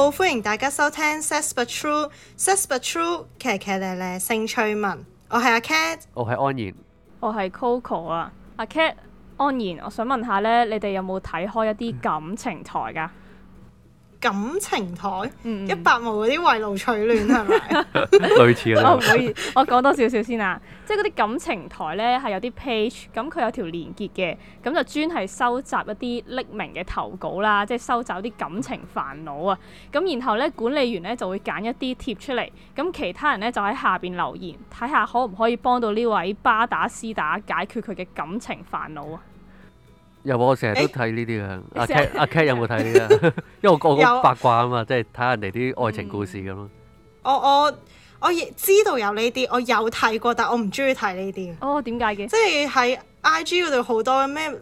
好，歡迎大家收聽 Says But True，Says But True，騎騎咧咧性趣聞。我係阿 Cat， 我係安然， 我係 Coco 啊。阿 Cat 安然，我想問下咧，你哋有冇睇開一啲感情台㗎？ 感情台100毛嗰啲圍爐取暖係咪？ 類似我啦唔。可以，我講多少少先啊。即係嗰啲感情台咧係有啲 page，咁佢有條連結嘅，咁就專係收集一啲匿名嘅投稿啦，即係收集啲感情煩惱啊。咁然後咧管理員咧就會揀一啲貼出嚟，咁其他人咧就喺下邊留言，睇下可唔可以幫到呢位巴打絲打解決佢嘅感情煩惱啊。 有我成日都睇呢啲嘅。阿 Cat 有冇睇呢啲啊？因為我好八卦啊嘛，即係睇下人哋啲愛情故事咁咯。 我亦知道有呢啲，我有睇過，但我唔中意睇呢啲。 哦，點解嘅？ 即係喺 IG 嗰度好多咩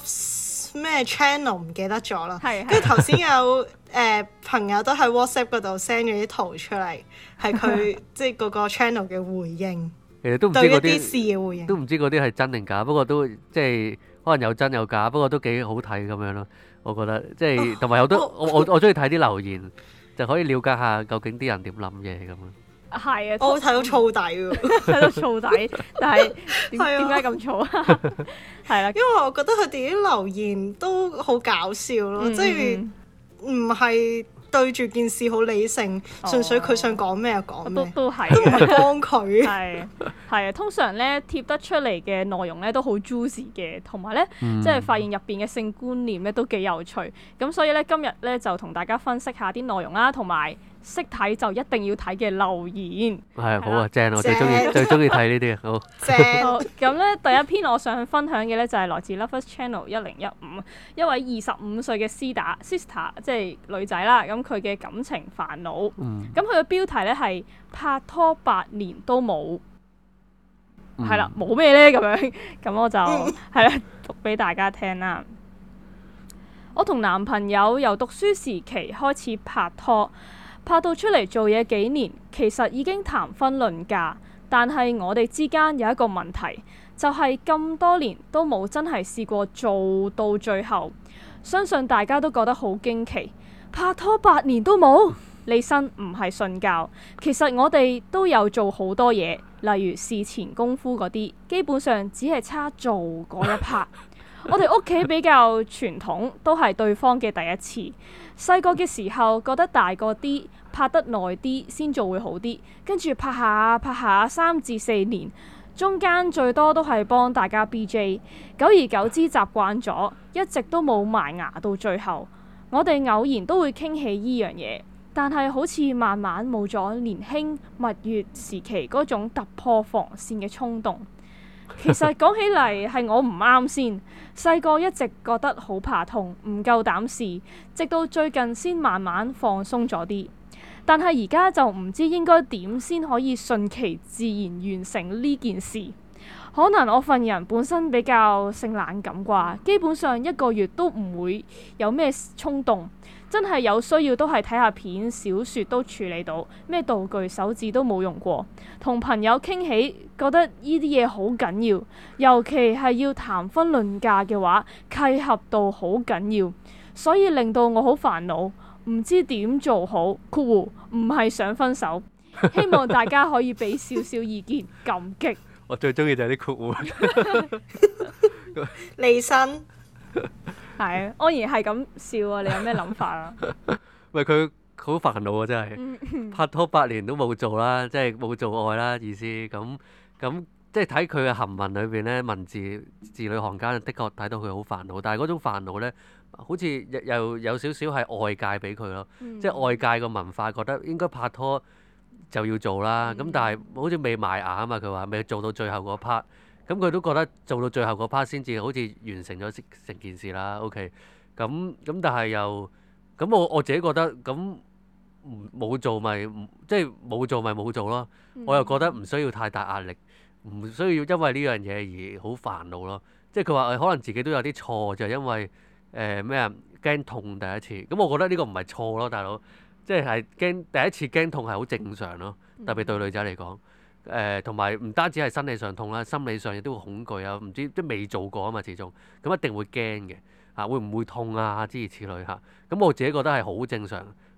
Love 咩 channel 唔記得咗啦。 係跟住頭先有朋友都喺 WhatsApp 嗰度 send 咗啲圖出嚟，係佢即係嗰個 channel 嘅回應， 其實都唔知對一嗰啲啲事嘅回應。 都唔知嗰啲係真定假，不過都即係可能有真有假，不過都幾好睇咁樣咯。我覺得即係同埋有都我中意睇啲留言，就可以了解下究竟啲人點諗嘢咁樣。 係啊， 我睇到燥底喎， 睇到燥底，但係點係啊解咁燥啊？係啦， 因為我覺得佢哋啲留言都好搞笑咯，即係唔係對住件事好理性，純粹佢想講咩就講咩， 都係都唔嘅。 係幫佢。 係啊，通常咧貼得出嚟嘅內容咧都好 juicy 嘅，同埋咧即係發現入邊嘅性觀念咧都幾有趣。咁所以咧今日咧就同大家分析下啲內容啦，同埋識睇就一定要睇嘅留言。 係好啊，正！我最正中意睇呢啲啊。好， 正好，咁咧第一篇我想分享嘅咧就係來自 Lovers Channel 1015一位25歲嘅sister，即係女仔啦。咁佢嘅感情煩惱，咁佢嘅標題咧係拍拖8年都冇。係啦，冇咩咧咁樣，咁我就係啦，讀俾大家聽啦。我同男朋友由讀書時期開始拍拖，拍到出嚟做嘢幾年，其實已經談婚論嫁，但係我哋之間有一個問題，就係咁多年都冇真係試過做到最後。相信大家都覺得好驚奇，拍拖8年都冇。利申唔係信教，其實我哋都有做好多嘢，例如事前功夫嗰啲，基本上只係差做嗰一 part。我哋屋企比較傳統，都係對方嘅第一次。細個嘅時候覺得大個啲，拍得耐啲先做會好啲，跟住拍下3至4年，中間最多都係幫大家 BJ， 久而久之習慣咗，一直都冇埋牙到最後。我哋偶然都會傾起依樣嘢。但係好似慢慢冇咗年輕蜜月時期嗰種突破防線嘅衝動。其實講起嚟係我唔啱先，細個一直覺得好怕痛，唔夠膽試，直到最近先慢慢放鬆咗啲。但係而家就唔知應該點先可以順其自然完成呢件事。可能我份人本身比較性冷感啩，基本上1個月都唔會有咩衝動。真係有需要都係睇下片、小説都處理到，咩道具、手指都冇用過。同朋友傾起，覺得呢啲嘢好緊要，尤其係要談婚論嫁嘅話，契合度好緊要，所以令到我好煩惱，唔知點做好。括弧唔係想分手，希望大家可以俾少少意見，感激。 我最中意就係啲括弧。 利申係啊，安然係咁笑啊！你有咩諗法啊？ 喂，佢好煩惱啊！真係拍拖8年都冇做啦，即係冇做愛啦意思。咁即係睇佢嘅行文裏邊咧，文字字裏行間，的確睇到佢好煩惱。但係嗰種煩惱咧，好似又有少少係外界俾佢咯，即係外界個文化覺得應該拍拖就要做啦。咁但係好似未埋牙啊嘛，佢話未做到最後嗰 part。咁佢都覺得做到最後嗰 part 先至好似完成咗成件事啦。OK，咁但係又咁我自己覺得咁冇做咪即係冇做咪冇做咯。我又覺得唔需要太大壓力，唔需要因為呢樣嘢而好煩惱咯。即係佢話可能自己都有啲錯，就係因為咩啊驚痛第一次。咁我覺得呢個唔係錯咯，大佬，即係驚第一次驚痛係好正常咯，特別對女仔嚟講。同埋唔單止係生理上痛啦，心理上亦都會恐懼啊，唔知即係未做過啊嘛，始終咁一定會驚嘅嚇，會唔會痛啊？諸如此類嚇，咁我自己覺得係好正常，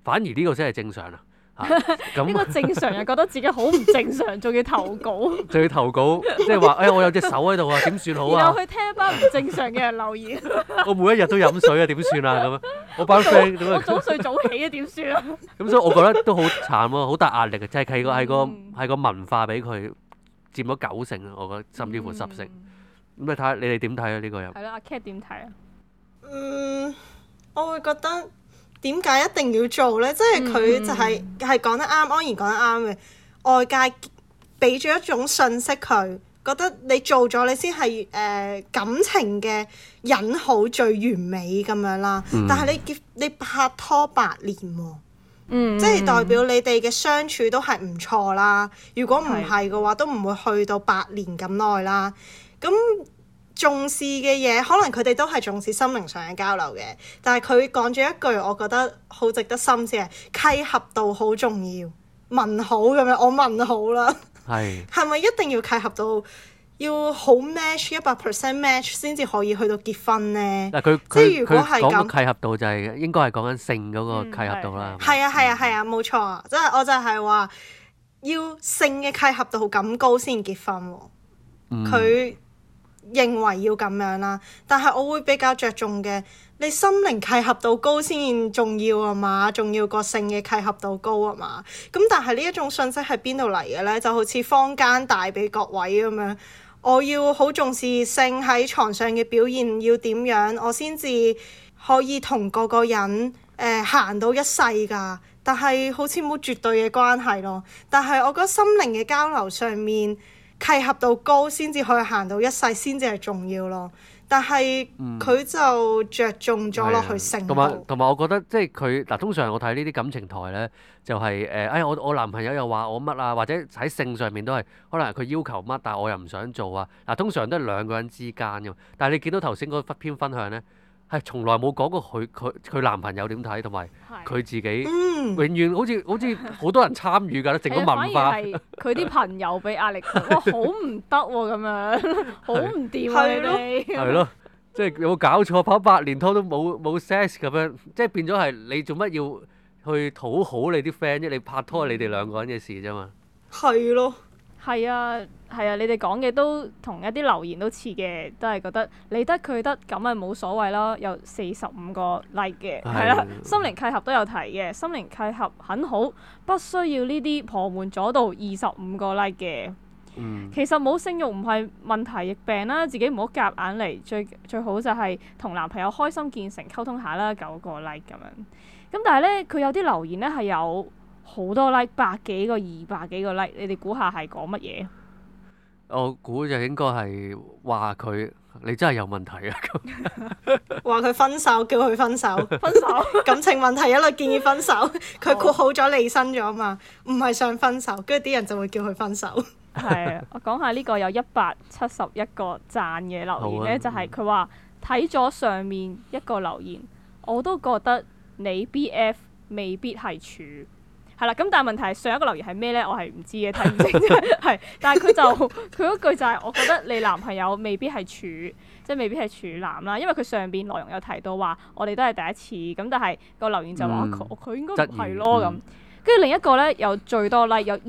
反而呢個先係正常啊！咁呢個正常人覺得自己好唔正常，仲要投稿， 仲要投稿，即係話我有隻手喺度啊，點算好啊？ 然後去聽一班唔正常嘅人留言。 我每一日都飲水啊，點算啊？咁樣我班 friend 點我啊？ 早睡早起啊，點算啊？ 咁所以我覺得都好慘咯，好大壓力嘅，即係係個文化俾佢佔咗90%啊，我覺得甚至乎10%。咁你睇下你哋點睇啊？呢個又係啦，阿 Cat 點睇啊？ 我會覺得點解一定要做呢？即係佢就係講得啱，安然講得啱嘅。外界俾咗一種信息佢，覺得你做咗你先係感情嘅引號最完美咁樣啦。但係你拍拖8年喎，即係代表你哋嘅相處都係唔錯啦。如果唔係嘅話，都唔會去到8年咁耐啦。咁重視嘅嘢，可能佢哋都係重視心靈上嘅交流嘅，但係佢講咗一句，我覺得好值得深思嘅，契合度好重要。問好咁樣，我問好啦。係咪一定要契合到要好 match 100% match 先至可以去到結婚呢？ 嗱， 即係如果係咁， 講個契合度就係應該係講緊性嗰個契合度啦。 係啊，冇錯啊！即係我就係話要性嘅契合度咁高先結婚喎。佢認為要咁樣啦，但係我會比較着重嘅，你心靈契合度高先重要啊嘛，仲要個性嘅契合度高啊嘛。咁但係呢一種信息係邊度嚟嘅呢？就好似坊間帶俾各位咁樣，我要好重視性喺床上嘅表現要點樣，我先至可以同個人行到一世㗎。但係好似冇絕對嘅關係咯。但係我覺得心靈嘅交流上面，契合度高先至可以行到一世，先至係重要咯。但係佢就着重咗落去性度。 同埋我覺得即係佢嗱，通常我睇呢啲感情台咧，就係我男朋友又話我乜啊，或者喺性上面都係可能係佢要求乜，但係我又唔想做啊。嗱，通常都係兩個人之間㗎嘛。但係你見到頭先嗰篇分享咧，係從來冇講過佢男朋友點睇，同埋佢自己永遠好似好多人參與㗎，整個文化。 反而係佢啲朋友俾壓力佢，哇好唔得喎咁樣，好唔掂啊你哋。 係咯，即係有冇搞錯？拍8年拖都冇 sex 咁樣，即係變咗係你做乜要去討好你啲 friend 啫？你拍拖係你哋兩個人嘅事啫嘛。 係咯。 係啊，你哋講嘅都同一啲留言都似嘅，都係覺得你得佢得咁咪冇所謂咯。有45個 like 嘅，係啦，心靈契合都有提嘅，心靈契合很好，不需要呢啲旁門左道。25個 like 嘅，其實冇性慾唔係問題亦病啦，自己唔好夾硬嚟，最好就係同男朋友開心見誠溝通下啦。9個 like 咁樣，咁但係咧佢有啲留言咧係有好多 like， 100幾個、200幾個 like， 你哋估下係講乜嘢？ 我估就應該係話佢你真係有問題啊！ 話佢分手，叫佢分手，感情問題一律建議分手。佢括好咗離身咗嘛，唔係想分手，跟住啲人就會叫佢分手。 係啊，我講下呢個有171個讚嘅留言咧，就係佢話睇咗上面一個留言，我都覺得你 BF 未必係處。係啦，咁但係問題係上一個留言係咩咧？我係唔知嘅，睇唔清係。但係佢嗰句就係我覺得你男朋友未必係處，即係未必係處男啦。因為佢上邊內容有提到話我哋都係第一次，咁但係個留言就話佢應該唔係咯咁。跟住另一個咧有最多 like 有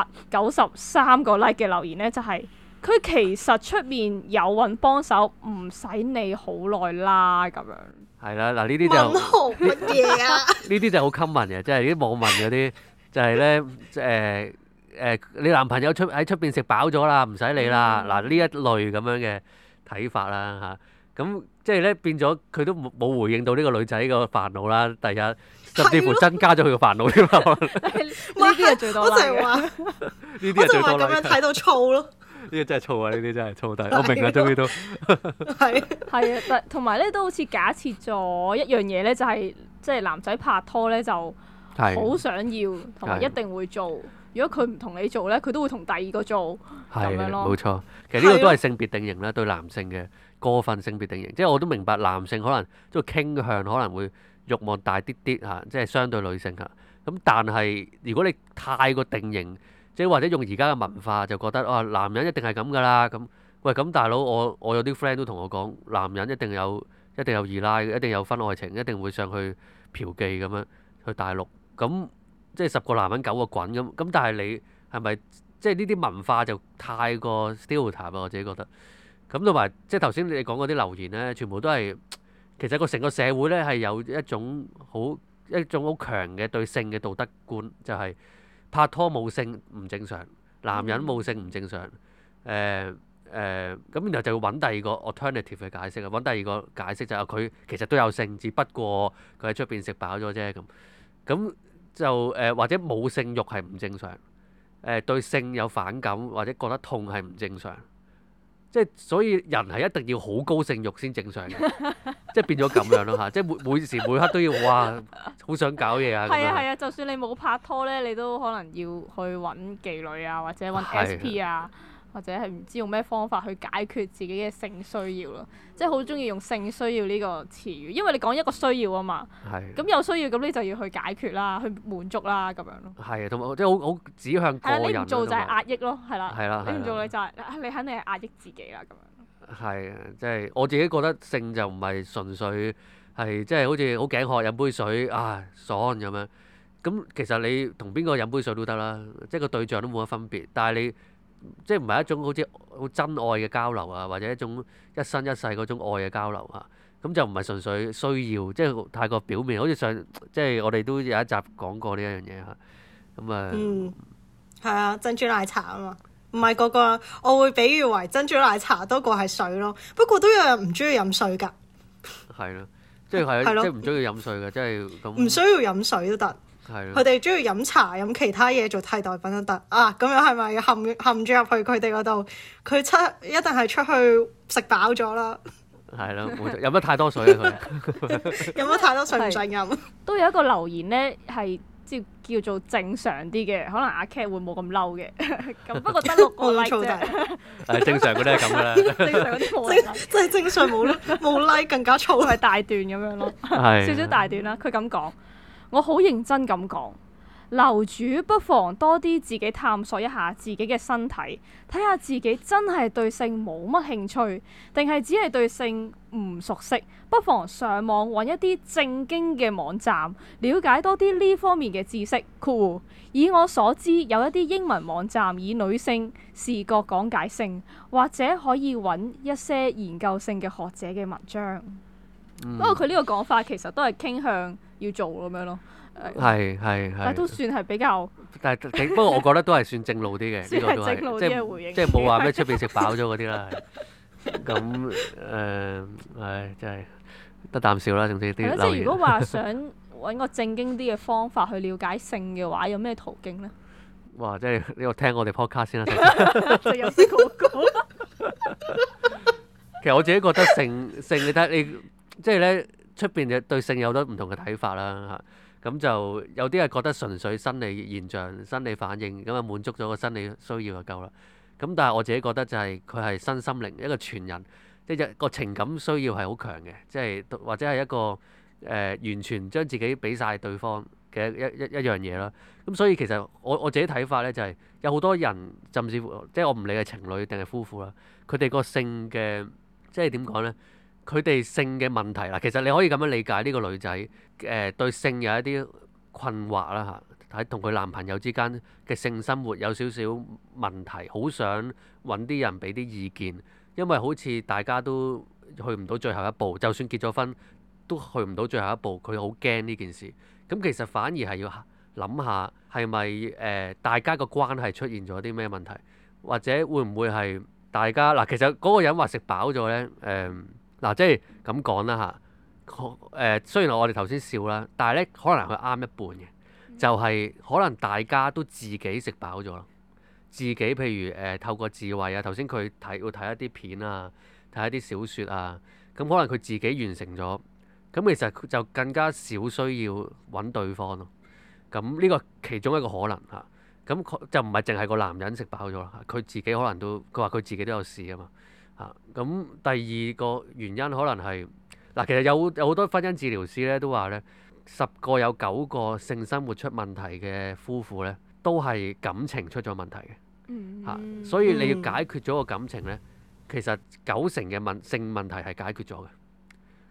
293個 like 嘅留言咧，就係佢其實出面有揾幫手，唔使你好耐啦咁樣。 係啦，嗱呢啲就問號乜嘢啊？ 呢啲就好 common 嘅，即係啲網民嗰啲就係咧你男朋友喺出邊食飽咗啦，唔使你啦。嗱呢一類咁樣嘅睇法啦嚇，咁即係咧變咗佢都冇回應到呢個女仔個煩惱啦。第一，甚至乎增加咗佢個煩惱添啦。 呢啲係最多啦。 我就係話， 呢啲係最多啦。 咁樣睇到燥咯。 呢個真係燥啊！呢啲真係燥底，我明啦，終於都係啊，但同埋咧都好似假設咗一樣嘢咧，就係即係男仔拍拖咧就好想要，同埋一定會做。如果佢唔同你做咧，佢都會同第二個做咁樣咯。 冇錯，其實呢個都係性別定型啦，對男性嘅過分性別定型。即係我都明白男性可能即係傾向可能會慾望大啲啲嚇，即係相對女性嚇。咁但係如果你太過定型，即係或者用而家嘅文化就覺得男人一定係咁㗎啦。咁喂，咁大佬我有啲 friend 都同我講，男人一定有二奶，一定有婚外情，一定會上去嫖妓咁樣去大陸咁即係10個男人9個滾咁，但係你係咪即係呢啲文化就太過 stereotype 啊？我自己覺得。咁同埋即係頭先你講嗰啲留言咧，全部都係其實成個社會咧係有一種好強嘅對性嘅道德觀，就係拍拖冇性唔正常，男人冇性唔正常。咁然後就要揾第二個 alternative 嘅解釋啊，揾第二個解釋就係佢其實都有性，只不過佢喺出邊食飽咗啫咁。咁就或者冇性慾係唔正常，對性有反感或者覺得痛係唔正常。即係所以人係一定要好高性慾先正常嘅，即係變咗咁樣咯嚇，即係每時每刻都要哇，好想搞嘢啊咁樣。 係啊係啊，就算你冇拍拖咧，你都可能要去揾妓女啊，或者揾 SP 啊，或者係唔知用咩方法去解決自己嘅性需要咯。即係好中意用性需要呢個詞語，因為你講一個需要啊嘛。係。咁有需要咁你就要去解決啦，去滿足啦咁樣咯。係啊， 同埋即係好指向個人。 你唔做就係壓抑咯，係啦。 係啦。 你唔做你就係你肯定係壓抑自己啦咁樣。 係啊，即係我自己覺得性就唔係純粹係即係好似好頸渴飲杯水啊爽咁樣。咁其實你同邊個飲杯水都得啦，即係個對象都冇乜分別。但係你即係唔係一種好似好真愛嘅交流啊，或者一種一生一世嗰種愛嘅交流啊，咁就唔係純粹需要，即係太過表面。好似即係我哋都有一集講過呢一樣嘢嚇，咁啊， 係啊，珍珠奶茶啊嘛，唔係個個我會比喻為珍珠奶茶多過係水咯。不過都有人唔中意飲水㗎。係咯， 即係唔中意飲水嘅，即係咁。 唔需要飲水都得。佢哋中意飲茶飲其他嘢做替代品都得啊！咁樣係咪陷住入去佢哋嗰度？佢一定係出去食飽咗啦。 係咯，飲得太多水啊！佢飲得太多水唔想飲。 都有一個留言咧，係叫做正常啲嘅，可能阿 Cat 會冇咁嬲嘅。咁不過得6個 like 啫。係正常嗰啲係咁噶啦。 正常嗰啲冇 like。 即係正常冇 like 更加燥， 係大段咁樣咯。少少大段啦，佢咁講。我好認真咁講，樓主不妨多啲自己探索一下自己嘅身體，睇下自己真係對性冇乜興趣，定係只係對性唔熟悉。不妨上網揾一啲正經嘅網站，了解多啲呢方面嘅知識。以我所知，有一啲英文網站以女性視覺講解性，或者可以揾一些研究性嘅學者嘅文章。不過佢呢個講法其實都係傾向要做咁樣咯， 係， 但都算係比較， 但係不過我覺得都係算正路啲嘅， 算係正路啲嘅回應， 即係冇話咩出邊食飽咗嗰啲啦。咁真係得啖笑啦，總之啲留言。 即係如果話想揾個正經啲嘅方法去了解性嘅話，有咩途徑咧？ 哇！即係呢個聽我哋 podcast 先啦， 就有啲廣告。 其實我自己覺得性你睇你。即係咧，出邊嘅對性有好多唔同嘅睇法啦嚇，咁就有啲係覺得純粹生理現象、生理反應，咁啊滿足咗個生理需要就夠啦。咁但係我自己覺得就係佢係身心靈一個全人，即係個情感需要係好強嘅，即係或者係一個完全將自己俾晒對方嘅一樣嘢啦。咁所以其實我自己睇法咧就係有好多人，甚至乎即係我唔理係情侶定係夫婦啦，佢哋個性嘅即係點講咧？佢哋性嘅問題啦，其實你可以咁樣理解呢個女仔對性有一啲困惑啦嚇，喺同佢男朋友之間嘅性生活有少少問題，好想揾啲人俾啲意見，因為好似大家都去唔到最後一步，就算結咗婚都去唔到最後一步，佢好驚呢件事。咁其實反而係要諗下係咪大家個關係出現咗啲咩問題，或者會唔會係大家嗱？其實嗰個人話食飽咗咧嗱，即係咁講啦嚇，雖然我哋頭先笑啦，但係咧可能佢啱一半嘅，就係可能大家都自己食飽咗咯，自己譬如透過智慧啊，頭先佢會睇一啲片啊，睇一啲小説啊，咁可能佢自己完成咗，咁其實佢就更加少需要揾對方咯。咁呢個其中一個可能嚇，咁就唔係淨係個男人食飽咗啦，佢自己可能都佢話佢自己都有試啊嘛。咁第二個原因可能係嗱，其實有好多婚姻治療師咧都話咧，10個有9個性生活出問題嘅夫婦咧，都係感情出咗問題嘅。所以你要解決咗個感情咧，其實90成嘅性問題係解決咗嘅。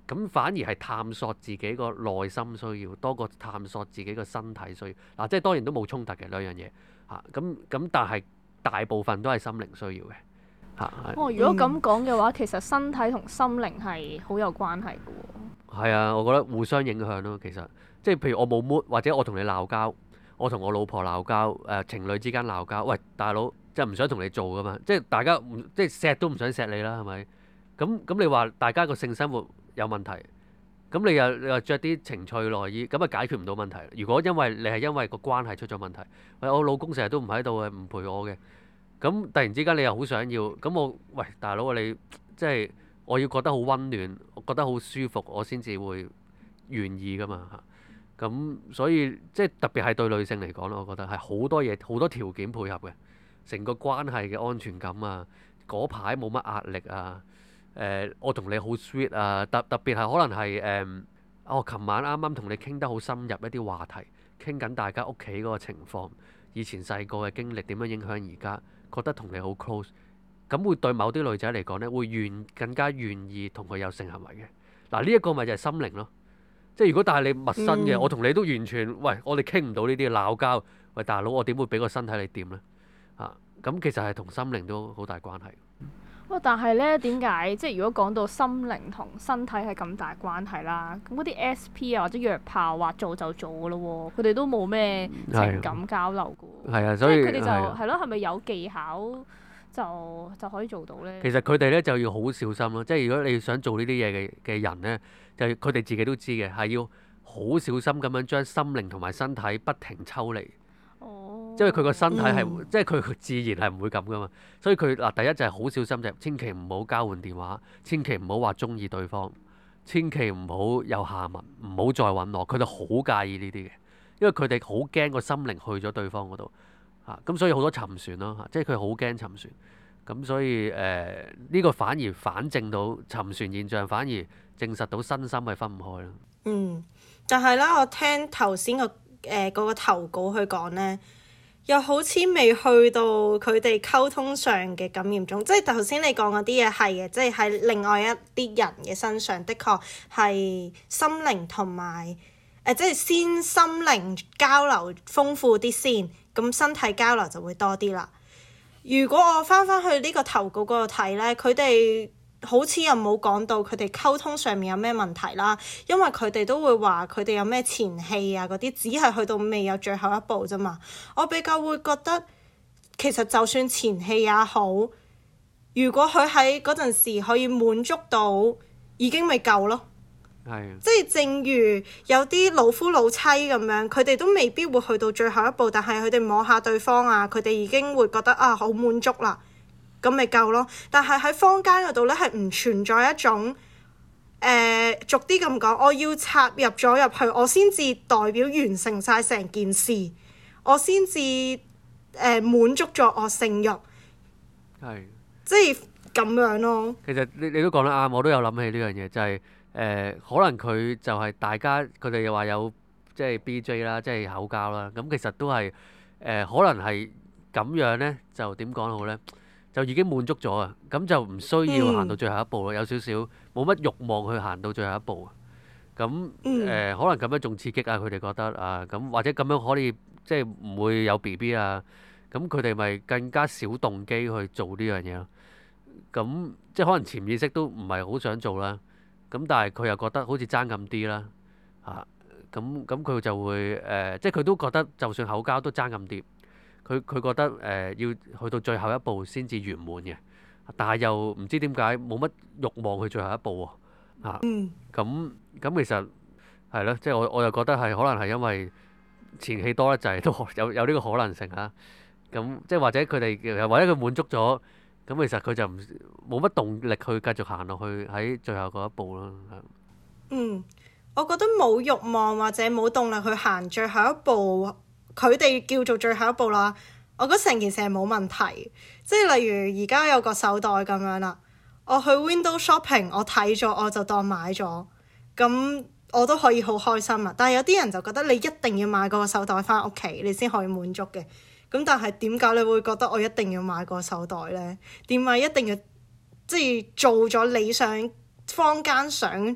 咁反而係探索自己個內心需要多過探索自己個身體需要。嗱，即係當然都冇衝突嘅兩樣嘢嚇。咁但係大部分都係心靈需要嘅嚇。 如果咁講嘅話，其實身體同心靈係好有關係嘅喎。 係啊，我覺得互相影響咯。其實即係譬如我冇 mood，或者我同你鬧交，我同我老婆鬧交，情侶之間鬧交，喂大佬，即係唔想同你做噶嘛，即係大家即係錫都唔想錫你啦，係咪？咁你話大家個性生活有問題，咁你又著啲情趣內衣，咁啊解決唔到問題。如果因為你係因為個關係出咗問題，喂我老公成日都唔喺度嘅，唔陪我嘅，咁突然之間你又好想要，咁喂大佬你即係我要覺得好溫暖，我覺得好舒服，我先至會願意噶嘛嚇。咁所以即係特別係對女性嚟講咯，我覺得係好多嘢好多條件配合嘅，成個關係嘅安全感啊，嗰排冇乜壓力啊，我同你好 sweet 啊，特別係可能係我琴晚啱啱同你傾得好深入一啲話題，傾緊大家屋企嗰個情況，以前細個嘅經歷點樣影響而家，覺得同你好 close， 咁會對某啲女仔嚟講呢，會更加願意同佢有性行為嘅。嗱呢一個咪就係心靈咯。即係如果但係你陌生嘅，我同你都完全，喂，我哋傾唔到呢啲鬧交，喂大佬，我點會俾個身體你掂呢？咁其實係同心靈都好大關係。 但係呢，點解即係如果講到心靈同身體係咁大關係啦，咁嗰啲 SP 啊或者約炮話做就做㗎咯喎，佢哋都冇咩情感交流㗎喎。係啊， 所以佢哋就係咯，係咪有技巧就可以做到呢？ 其實佢哋呢就要好小心咯，即係如果你想做呢啲嘢嘅人呢，就佢哋自己都知嘅，係要好小心咁樣將心靈同埋身體不停抽離。因為佢個身體係，即係佢自然係唔會咁噶嘛，所以佢第一就係好小心，就千祈唔好交換電話，千祈唔好話中意對方，千祈唔好有下文，唔好再揾我。佢哋好介意呢啲嘅，因為佢哋好驚個心靈去咗對方嗰度咁所以好多沉船咯即係佢好驚沉船。咁所以呢個反而反證到沉船現象，反而證實到身心係分唔開咯。 但係咧，我聽頭先嗰個投稿去講呢，又好似未去到佢哋溝通上嘅咁嚴重，即係頭先你講嗰啲嘢係嘅，即係喺另外一啲人嘅身上，的確係心靈同埋即係先心靈交流豐富啲先，咁身體交流就會多啲啦。如果我翻去呢個投稿嗰度睇呢，佢哋好似又冇講到佢哋溝通上面有咩問題啦，因為佢哋都會話佢哋有咩前戲啊嗰啲，只係去到未有最後一步啫嘛。我比較會覺得其實就算前戲也好，如果佢喺嗰陣時可以滿足到，已經未夠咯。即係正如有啲老夫老妻咁樣，佢哋都未必會去到最後一步，但係佢哋摸下對方啊，佢哋已經會覺得好滿足啦。咁咪夠咯，但係喺坊間嗰度咧係唔存在一種俗啲咁講，我要插入咗入去，我先至代表完成晒成件事，我先至滿足咗我性慾，即係咁樣咯。 其實你都講得啱，我都有諗起呢樣嘢，就係可能佢就係大家佢哋又話有即係 BJ 啦，即係口交啦，咁其實都係可能係咁樣咧，就點講好咧？就已經滿足咗啊，咁就唔需要行到最後一步咯，有少少冇乜慾望去行到最後一步啊。咁可能咁樣仲刺激啊，佢哋覺得啊，咁或者咁樣可以即係唔會有 BB 啊，咁佢哋咪更加少動機去做呢樣嘢咯。咁即係可能潛意識都唔係好想做啦，咁但係佢又覺得好似爭咁啲啦嚇，咁佢就會即係佢都覺得就算口交都爭咁啲。佢覺得要去到最後一步先至圓滿嘅，但係又唔知點解冇乜慾望去最後一步喎咁其實係咯，即係我又覺得係可能係因為前戲多得滯，都有呢個可能性嚇。咁即係或者佢哋或者佢滿足咗，咁其實佢就冇乜動力去繼續行落去喺最後嗰一步咯。 我覺得冇慾望或者冇動力去行最後一步。佢哋叫做最後一步啦，我覺得成件事係冇問題，即係例如而家有個手袋咁樣啦，我去 window shopping， 我睇咗我就當買咗，咁我都可以好開心啊。但係有啲人就覺得你一定要買個手袋返屋企，你先可以滿足嘅。咁但係點解你會覺得我一定要買個手袋呢？點解一定要即係做咗你想坊間想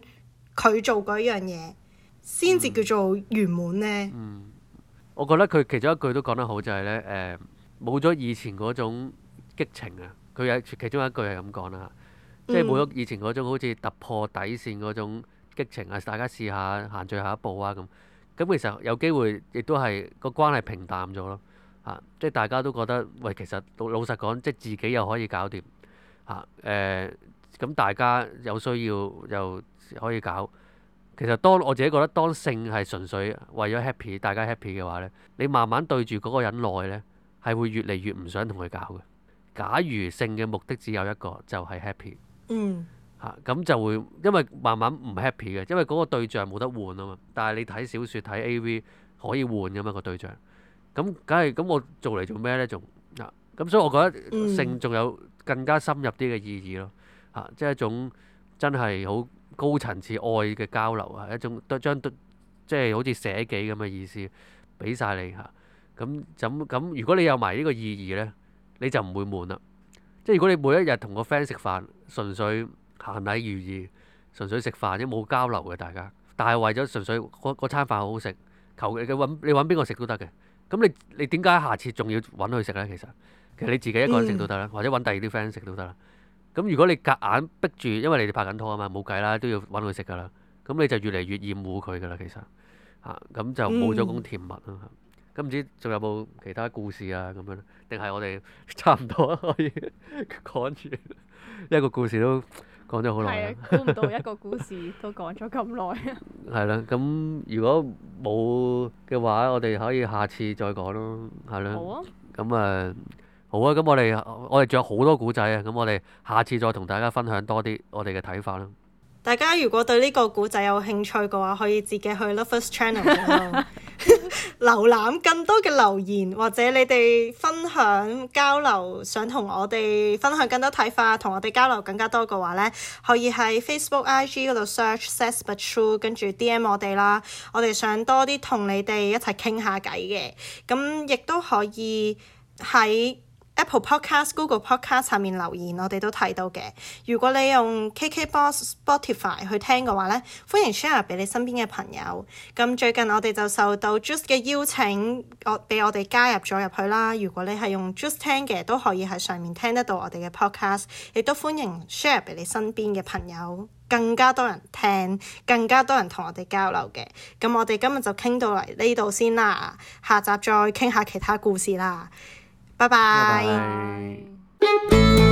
佢做嗰樣嘢，先至叫做圓滿呢？ 我覺得佢其中一句都講得好，就係呢：冇咗以前嗰種激情啊！佢有其中一句係咁講啦，即係冇咗以前嗰種好似突破底線嗰種激情啊！大家試下行最後一步啊咁。咁其實有機會亦都係個關係平淡咗咯。即係大家都覺得喂，其實老實講，即係自己又可以搞掂咁大家有需要又可以搞。其實我自己覺得，當性係純粹為咗 happy，大家 happy 嘅話呢，你慢慢對住嗰個人耐呢，係會越嚟越唔想同佢搞嘅。假如性嘅目的只有一個，就係 happy。咁就會因為慢慢唔 happy 嘅，因為嗰個對象冇得換啊嘛。但係你睇小説睇 AV 可以換㗎嘛個對象。咁梗係咁，我做嚟做咩呢？仲咁，所以我覺得性仲有更加深入啲嘅意義咯。即係一種真係好高層次愛嘅交流啊，一種將即係好似捨己咁嘅意思俾晒你嚇。咁如果你有埋呢個意義呢，你就唔會悶啦。即係如果你每一日同個 friend 食飯，純粹閒禮如儀，純粹食飯，即冇交流嘅大家，但係為咗純粹嗰餐飯好好食，求你揾邊個食都得嘅。咁你點解下次仲要揾佢食呢？其實你自己一個人食都得啦，或者揾第二啲 friend 食都得啦。咁如果你夾硬逼住，因為你哋拍緊拖啊嘛，冇計啦，都要揾佢食噶啦。咁你就越嚟越厭惡佢噶啦，其實咁就冇咗咁甜蜜啦。咁唔知仲有冇其他故事啊？咁樣定係我哋差唔多可以講住一個故事都講咗好耐。 估唔到一個故事都講咗咁耐。 係啦，咁如果冇嘅話，我哋可以下次再講咯，係啦。好啊。咁好啊，咁我哋仲有好多古仔啊，咁我哋下次再同大家分享多啲我哋嘅睇法啦。 大家如果對呢個古仔有興趣嘅話，可以自己去 Lovers Channel 度瀏覽更多嘅留言，或者你哋分享交流，想同我哋分享更多睇法，同我哋交流更加多嘅話呢，可以喺 Facebook、IG 嗰度 search Says But True， 跟住 DM 我哋啦。我哋想多啲同你哋一齊傾下偈嘅，咁亦都可以喺Apple Podcast、Google Podcast 下面留言，我哋都睇到嘅。如果你用 KKBox、Spotify 去聽嘅話呢，歡迎 share 俾你身邊嘅朋友。咁最近我哋就受到 Juice 嘅邀請，俾我哋加入咗入去啦。如果你係用 Juice 聽嘅，都可以喺上面聽得到我哋嘅 podcast， 亦都歡迎 share 俾你身邊嘅朋友，更加多人聽，更加多人同我哋交流嘅。咁我哋今日就傾到嚟呢度先啦，下集再傾下其他故事啦。拜拜。